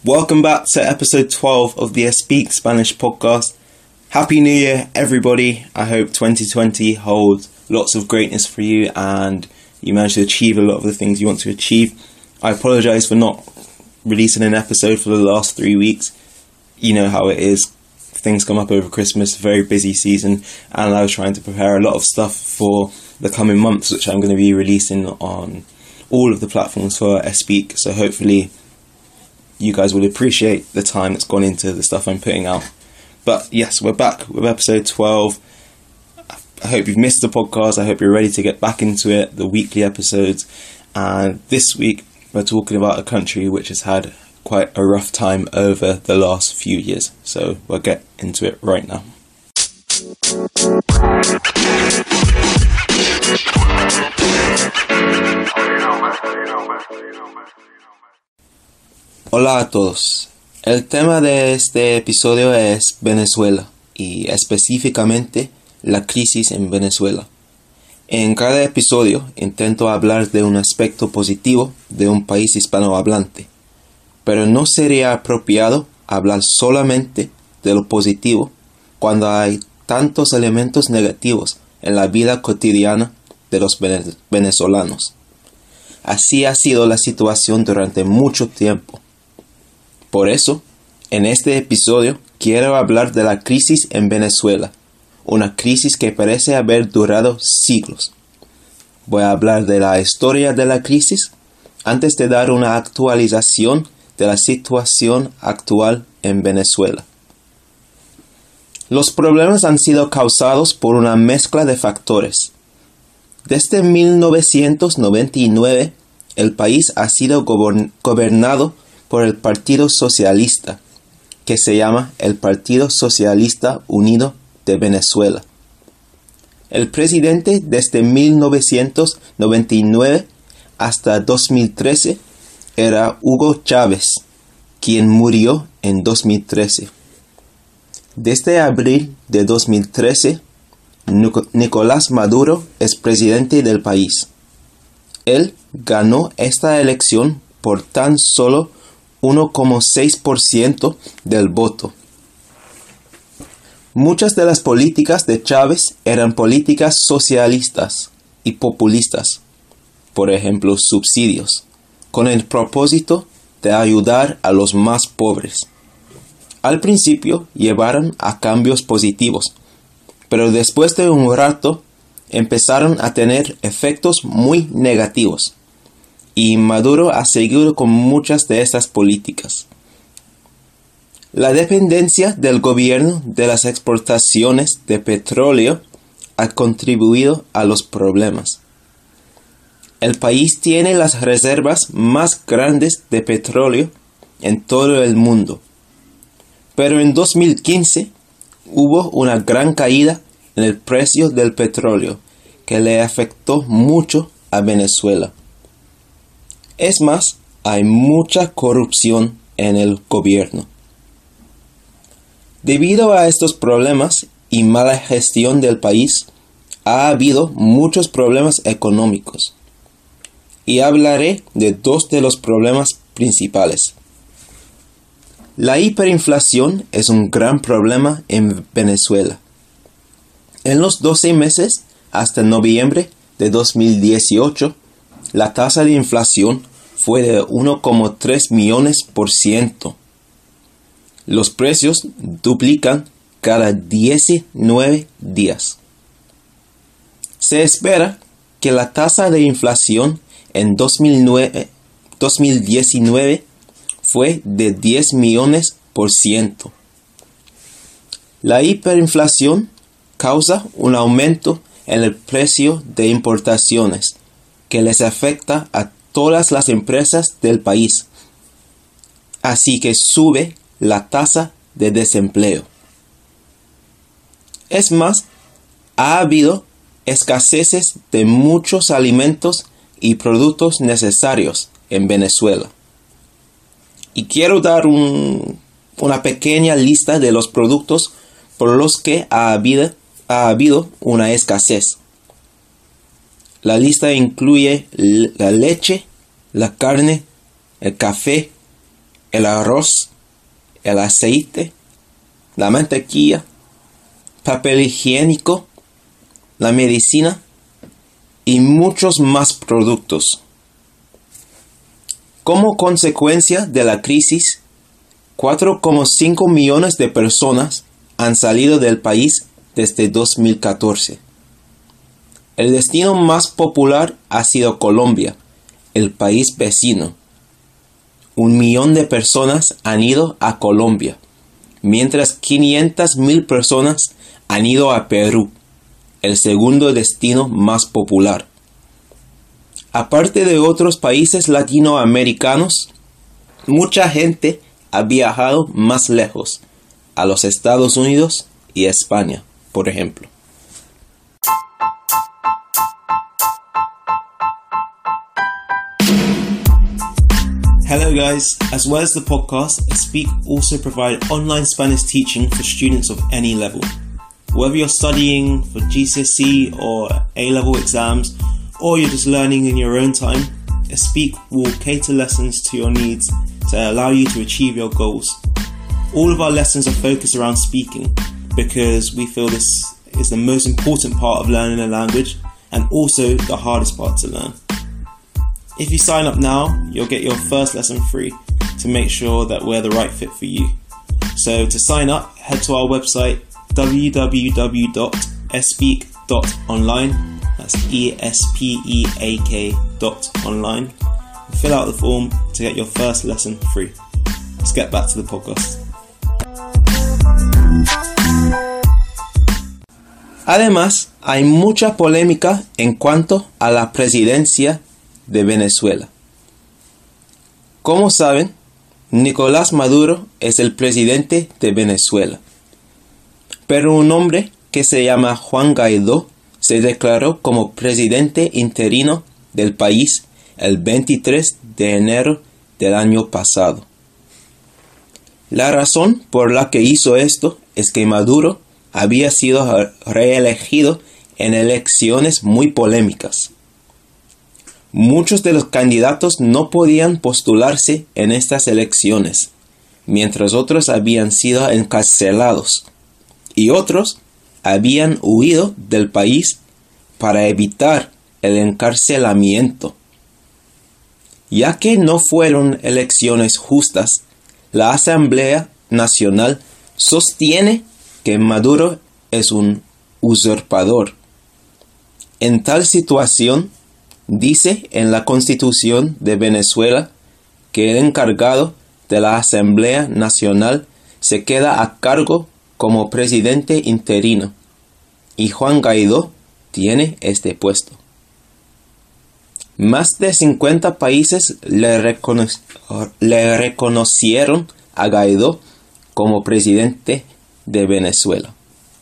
Welcome back to episode 12 of the Speak Spanish podcast. Happy New Year, everybody. I hope 2020 holds lots of greatness for you and you manage to achieve a lot of the things you want to achieve. I apologise for not releasing an episode for the last 3 weeks. You know how it is. Things come up over Christmas, very busy season, and I was trying to prepare a lot of stuff for the coming months, which I'm going to be releasing on all of the platforms for Speak. So hopefully you guys will appreciate the time that's gone into the stuff I'm putting out. But yes, we're back with episode 12. I hope you've missed the podcast. I hope you're ready to get back into it, the weekly episodes. And this week, we're talking about a country which has had quite a rough time over the last few years. So we'll get into it right now. Hola a todos. El tema de este episodio es Venezuela y específicamente la crisis en Venezuela. En cada episodio intento hablar de un aspecto positivo de un país hispanohablante, pero no sería apropiado hablar solamente de lo positivo cuando hay tantos elementos negativos en la vida cotidiana de los venezolanos. Así ha sido la situación durante mucho tiempo. Por eso, en este episodio quiero hablar de la crisis en Venezuela, una crisis que parece haber durado siglos. Voy a hablar de la historia de la crisis antes de dar una actualización de la situación actual en Venezuela. Los problemas han sido causados por una mezcla de factores. Desde 1999, el país ha sido gobernado por el Partido Socialista, que se llama el Partido Socialista Unido de Venezuela. El presidente desde 1999 hasta 2013 era Hugo Chávez, quien murió en 2013. Desde abril de 2013, Nicolás Maduro es presidente del país. Él ganó esta elección por tan solo 1,6% del voto. Muchas de las políticas de Chávez eran políticas socialistas y populistas, por ejemplo, subsidios, con el propósito de ayudar a los más pobres. Al principio llevaron a cambios positivos, pero después de un rato empezaron a tener efectos muy negativos. Y Maduro ha seguido con muchas de estas políticas. La dependencia del gobierno de las exportaciones de petróleo ha contribuido a los problemas. El país tiene las reservas más grandes de petróleo en todo el mundo. Pero en 2015 hubo una gran caída en el precio del petróleo que le afectó mucho a Venezuela. Es más, hay mucha corrupción en el gobierno. Debido a estos problemas y mala gestión del país, ha habido muchos problemas económicos. Y hablaré de dos de los problemas principales. La hiperinflación es un gran problema en Venezuela. En los 12 meses hasta noviembre de 2018, la tasa de inflación fue de 1,3 millones%. Los precios duplican cada 19 días. Se espera que la tasa de inflación en 2019 fue de 10 millones%. La hiperinflación causa un aumento en el precio de importaciones que les afecta a todas las empresas del país, así que sube la tasa de desempleo. Es más, ha habido escaseces de muchos alimentos y productos necesarios en Venezuela. Y quiero dar una pequeña lista de los productos por los que ha habido una escasez. La lista incluye la leche, la carne, el café, el arroz, el aceite, la mantequilla, papel higiénico, la medicina y muchos más productos. Como consecuencia de la crisis, 4,5 millones de personas han salido del país desde 2014. El destino más popular ha sido Colombia, el país vecino. 1 millón de personas han ido a Colombia, mientras 500,000 personas han ido a Perú, el segundo destino más popular. Aparte de otros países latinoamericanos, mucha gente ha viajado más lejos, a los Estados Unidos y España, por ejemplo. Hello guys, as well as the podcast, Speak also provide online Spanish teaching for students of any level. Whether you're studying for GCSE or A-level exams, or you're just learning in your own time, Speak will cater lessons to your needs to allow you to achieve your goals. All of our lessons are focused around speaking because we feel this is the most important part of learning a language and also the hardest part to learn. If you sign up now, you'll get your first lesson free to make sure that we're the right fit for you. So to sign up, head to our website www.espeak.online. That's ESPEAK.online. Fill out the form to get your first lesson free. Let's get back to the podcast. Además, hay mucha polémica en cuanto a la presidencia de Venezuela. Como saben, Nicolás Maduro es el presidente de Venezuela. Pero un hombre que se llama Juan Guaidó se declaró como presidente interino del país el 23 de enero del año pasado. La razón por la que hizo esto es que Maduro había sido reelegido en elecciones muy polémicas. Muchos de los candidatos no podían postularse en estas elecciones, mientras otros habían sido encarcelados y otros habían huido del país para evitar el encarcelamiento. Ya que no fueron elecciones justas, la Asamblea Nacional sostiene que Maduro es un usurpador. En tal situación, dice en la Constitución de Venezuela que el encargado de la Asamblea Nacional se queda a cargo como presidente interino y Juan Guaidó tiene este puesto. Más de 50 países le reconocieron a Guaidó como presidente de Venezuela.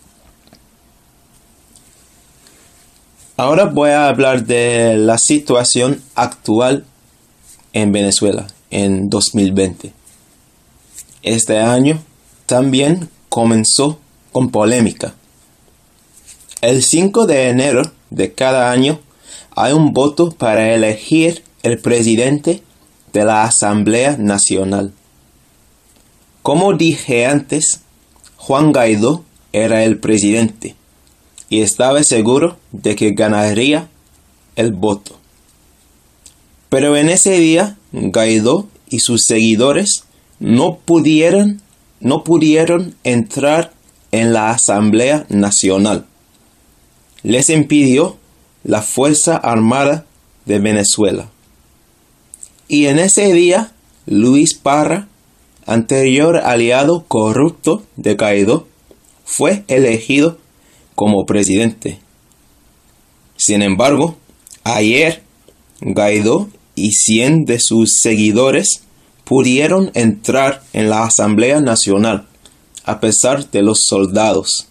Ahora voy a hablar de la situación actual en Venezuela en 2020. Este año también comenzó con polémica. El 5 de enero de cada año hay un voto para elegir el presidente de la Asamblea Nacional. Como dije antes, Juan Guaidó era el presidente y estaba seguro de que ganaría el voto. Pero en ese día, Guaidó y sus seguidores no pudieron entrar en la Asamblea Nacional. Les impidió la Fuerza Armada de Venezuela. Y en ese día, Luis Parra, anterior aliado corrupto de Guaidó, fue elegido como presidente. Sin embargo, ayer Guaidó y 100 de sus seguidores pudieron entrar en la Asamblea Nacional, a pesar de los soldados.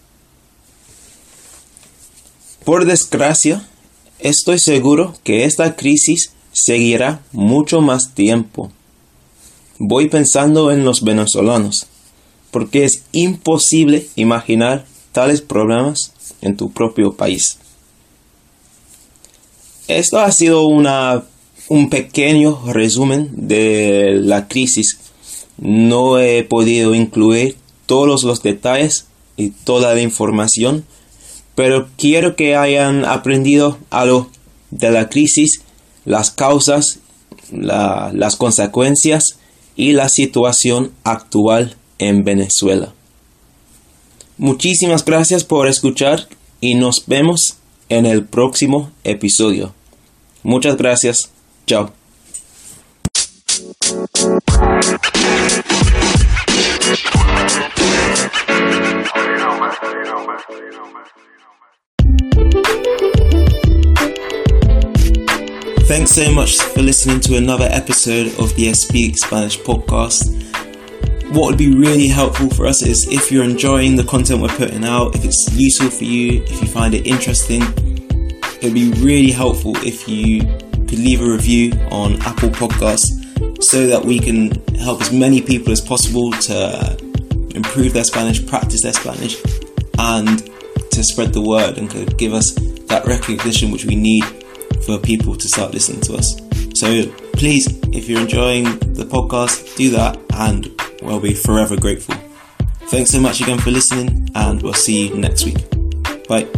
Por desgracia, estoy seguro que esta crisis seguirá mucho más tiempo. Voy pensando en los venezolanos, porque es imposible imaginar tales problemas en tu propio país. Esto ha sido un pequeño resumen de la crisis No he podido incluir todos los detalles y toda la información, pero quiero que hayan aprendido algo de la crisis, las causas, las consecuencias y la situación actual en Venezuela. Muchísimas gracias por escuchar y nos vemos en el próximo episodio. Muchas gracias. Chao. Thanks so much for listening to another episode of the Speak Spanish podcast. What would be really helpful for us is if you're enjoying the content we're putting out, if it's useful for you, if you find it interesting, it'd be really helpful if you could leave a review on Apple Podcasts so that we can help as many people as possible to improve their Spanish, practice their Spanish, and to spread the word and could give us that recognition which we need for people to start listening to us. So please, if you're enjoying the podcast, do that and we'll be forever grateful. Thanks so much again for listening, and we'll see you next week. Bye.